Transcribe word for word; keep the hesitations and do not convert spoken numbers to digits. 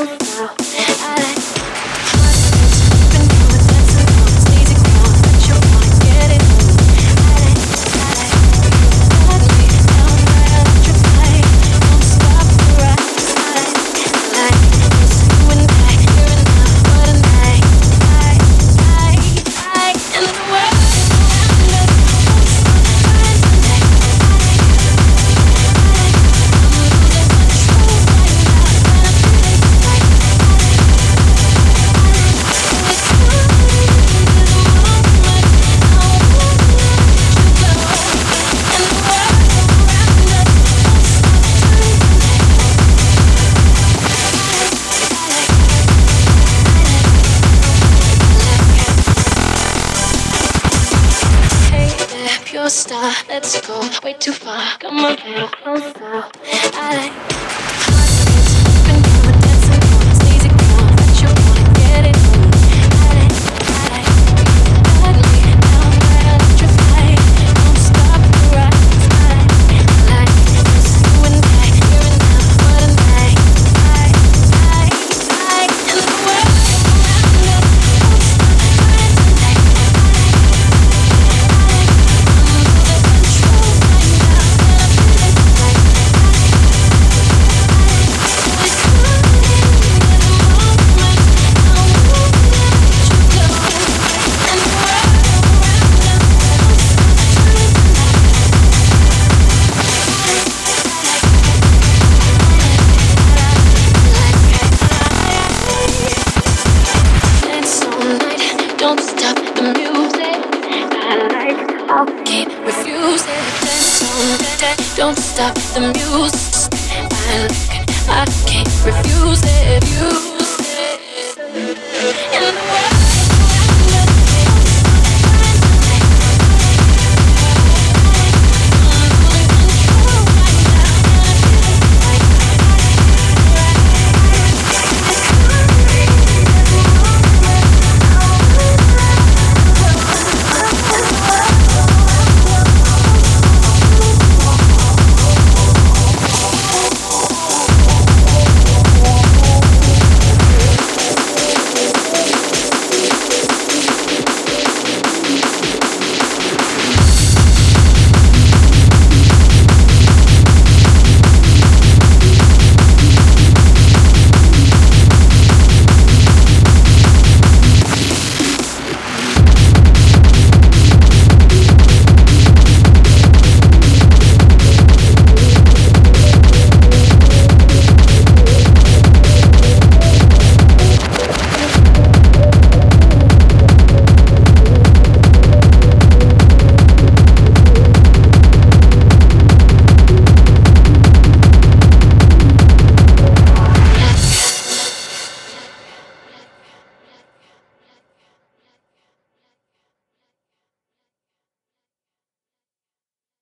style. I like skipping down the dancing floor, sneezy crowd that you wanna get it on. I like, I like, got me down right electrify. Don't stop the rise. I like, I like, it's you and I, here and now, what a night. I, I, I, and the world around us won't stop trying to make. I like, I like, I'm losing control right now, and I'm feeling like I like, I like, it's good in the moment. I won't let you go, and the world around us won't stop trying to make. I like, hey there, pure star, let's go way too far. Come a little closer. I like skipping down the dancing floor, sneezy crowd that you wanna get it on. I like, I like, got me down right electrify. Don't stop the rise. I like, I like, it's you and I, here and now, what a night. I, I, I, and the world around us won't stop trying to make. Don't stop the music. I like, I'll keep refusing. Dance on that, don't stop the music. I like, I can't refuse it. You